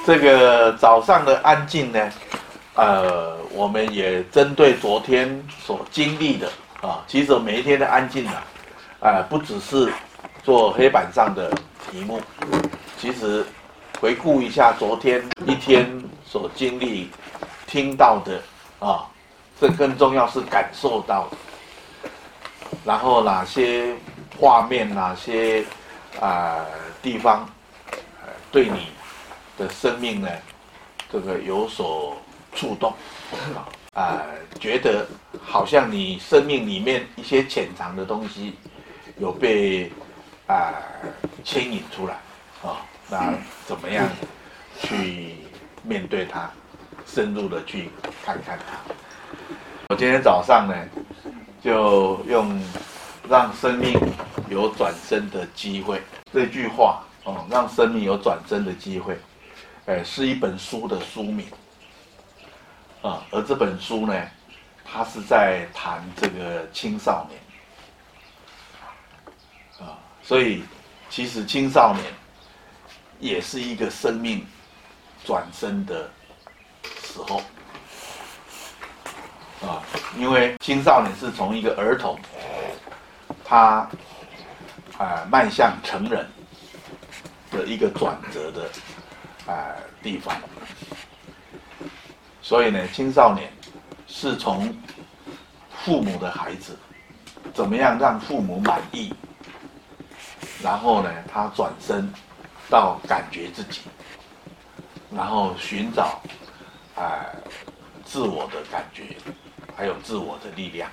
這個早上的安靜呢，我們也針對昨天所經歷的啊，其實每一天的安靜啊，不只是做黑板上的題目，其實回顧一下昨天一天所經歷、聽到的啊，這更重要是感受到的，然後哪些畫面、哪些地方，對你的生命呢，這個有所觸動，覺得好像你生命裡面一些潛藏的東西有被牽引出來啊，那怎麼樣去面對它，深入的去看看它。我今天早上呢，就用讓生命有轉生的機會這句話哦，讓生命有轉生的機會，是一本書的書名啊，而這本書呢，它是在談這個青少年啊，所以其實青少年也是一個生命轉生的時候啊，因為青少年是從一個兒童，他邁向成人的一個轉折的地方，所以呢，青少年是從父母的孩子，怎麼樣讓父母滿意，然後呢，他轉身到感覺自己，然後尋找自我的感覺，還有自我的力量。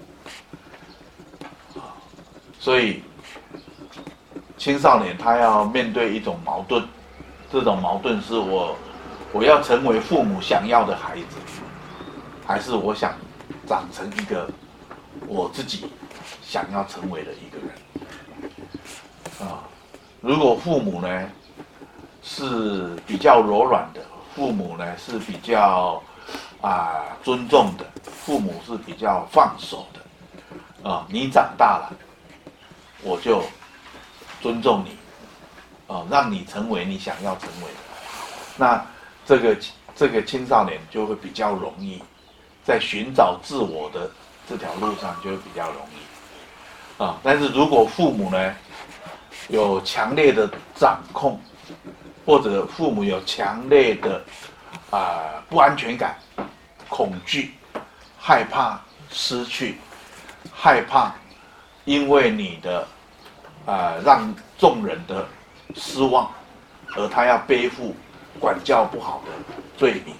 所以青少年他要面對一種矛盾，這種矛盾是我要成為父母想要的孩子，還是我想長成一個我自己想要成為的一個人啊。如果父母呢是比較柔軟的，父母呢是比較尊重的，父母是比較放手的啊，你長大了，我就尊重你，讓你成為你想要成為的。那這個青少年就会比较容易，在尋找自我的這條路上就會比較容易但是如果父母呢有強烈的掌控，或者父母有強烈的不安全感、恐懼、害怕失去、害怕因為你的讓眾人的失望，而他要背負管教不好的罪名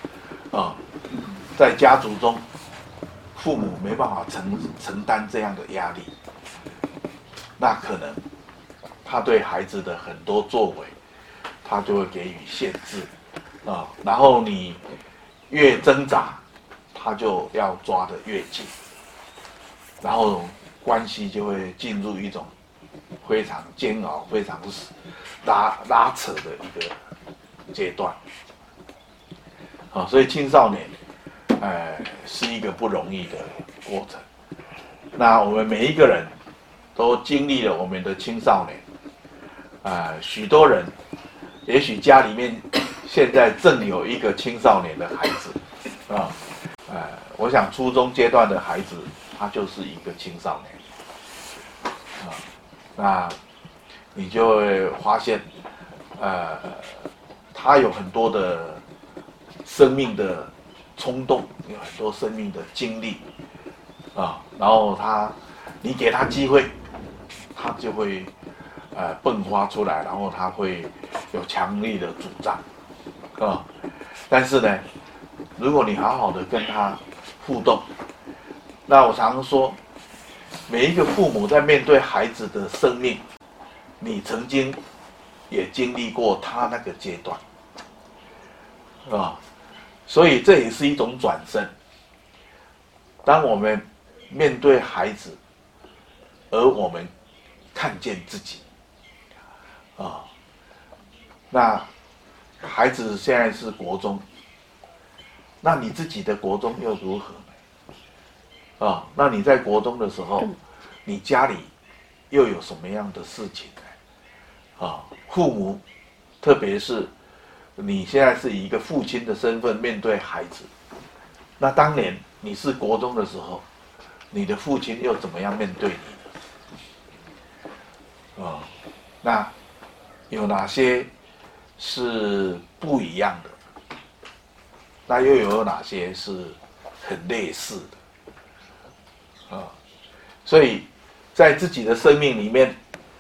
在家族中，父母沒辦法承擔這樣的壓力，那可能他對孩子的很多作為，他就會給予限制然後你越掙扎，他就要抓得越緊，然後關係就會進入一種非常煎熬、非常拉扯的一個階段所以青少年是一個不容易的過程。那我們每一個人都經歷了我們的青少年許多人也許家裡面現在正有一個青少年的孩子我想初中階段的孩子他就是一個青少年那你就會發現他有很多的生命的衝動，有很多生命的經歷然後你給他機會，他就會迸發出來，然後他會有強力的主張但是呢，如果你好好的跟他互動，那我常說，每一個父母在面對孩子的生命，你曾經也經歷過他那個階段所以這也是一種轉生。當我們面對孩子，而我們看見自己那孩子現在是國中，那你自己的國中又如何呢？那你在國中的時候，你家裡又有什麼樣的事情呢？父母，特別是你現在是以一個父親的身份面對孩子，那當年你是國中的時候，你的父親又怎麼樣面對你呢？那有哪些是不一樣的？那又有哪些是很類似的？所以在自己的生命裡面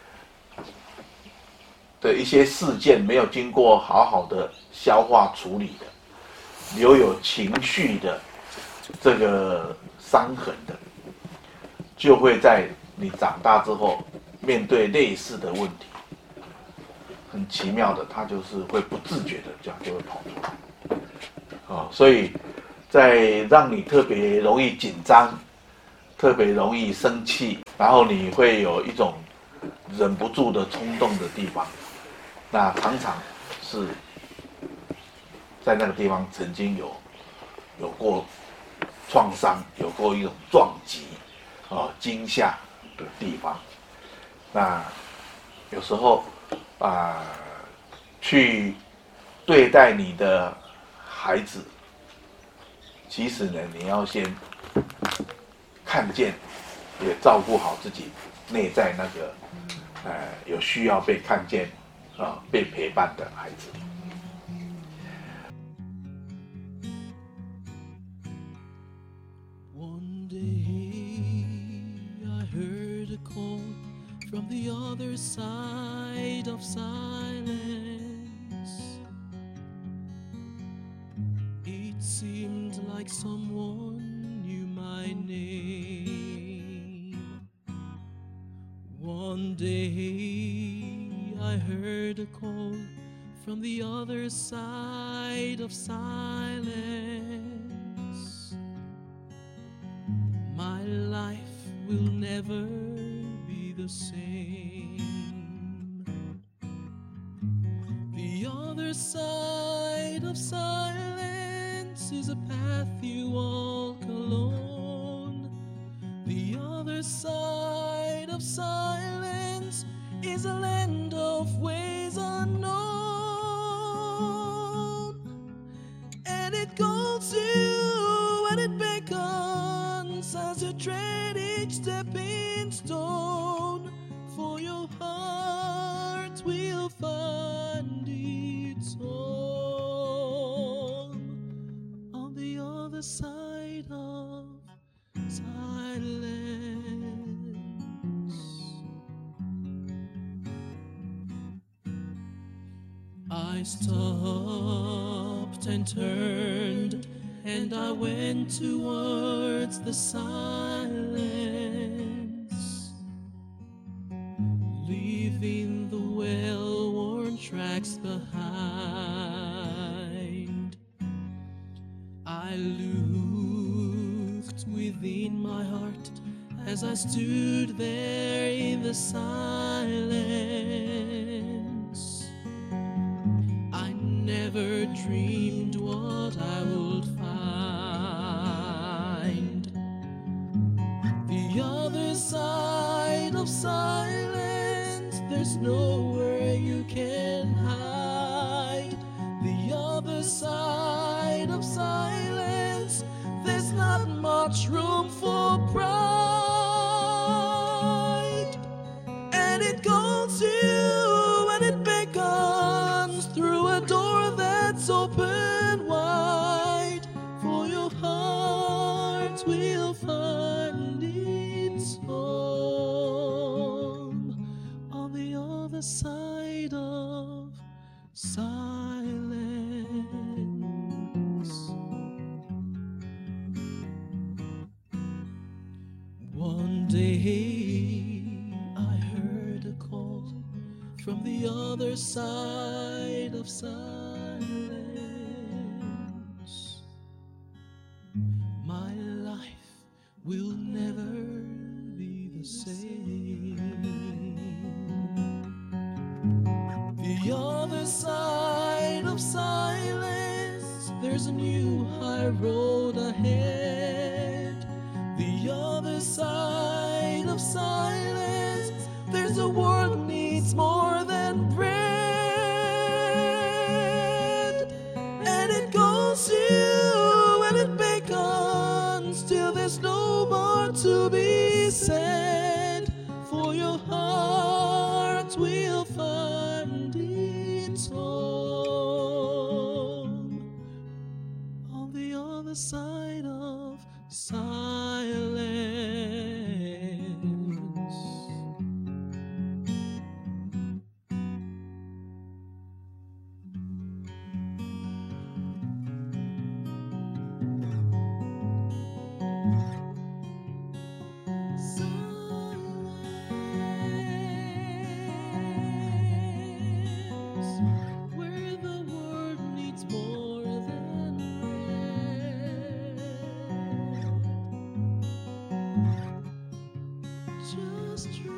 的一些事件沒有經過好好的消化處理的，留有情緒的這個傷痕的，就會在你長大之後面對類似的問題，很奇妙的，它就是會不自覺的這樣就會跑出來。所以在讓你特別容易緊張、特別容易生氣，然後你會有一種忍不住的衝動的地方，那常常是在那個地方曾經有過創傷，有過一種撞擊、驚嚇的地方。那有時候去對待你的孩子，其實呢，你要先看見，也照顧好自己內在那個有需要被看見被陪伴的孩子。 One day I heard a call from the other side of silence. It seemed like someone knew my name. One day I heard a call from the other side of silence. My life will never be the same. The other side of silence is a path you walk alone. The other side of silence is a land of ways unknown. And it calls you and it beckons as you tread each stepping stone. For your heart will find its home on the other side of silence. I stopped and turned, and I went towards the silence, leaving the well-worn tracks behind. I looked within my heart as I stood there in the silence. I never dreamed what I would find. The other side of silence, there's nowhere you can hide. The other side of silence, there's not much room for pride. And it calls you and it beckons through a door that's open wide. For your heart will find its home on the other side of silence. One day I heard a call from the other side of silence. My life will never be the same. The other side of silence, there's a new high road ahead. The other side of silence, there's a world that needs more than bread. the side of silence. Silence, where the world needs more than red. Just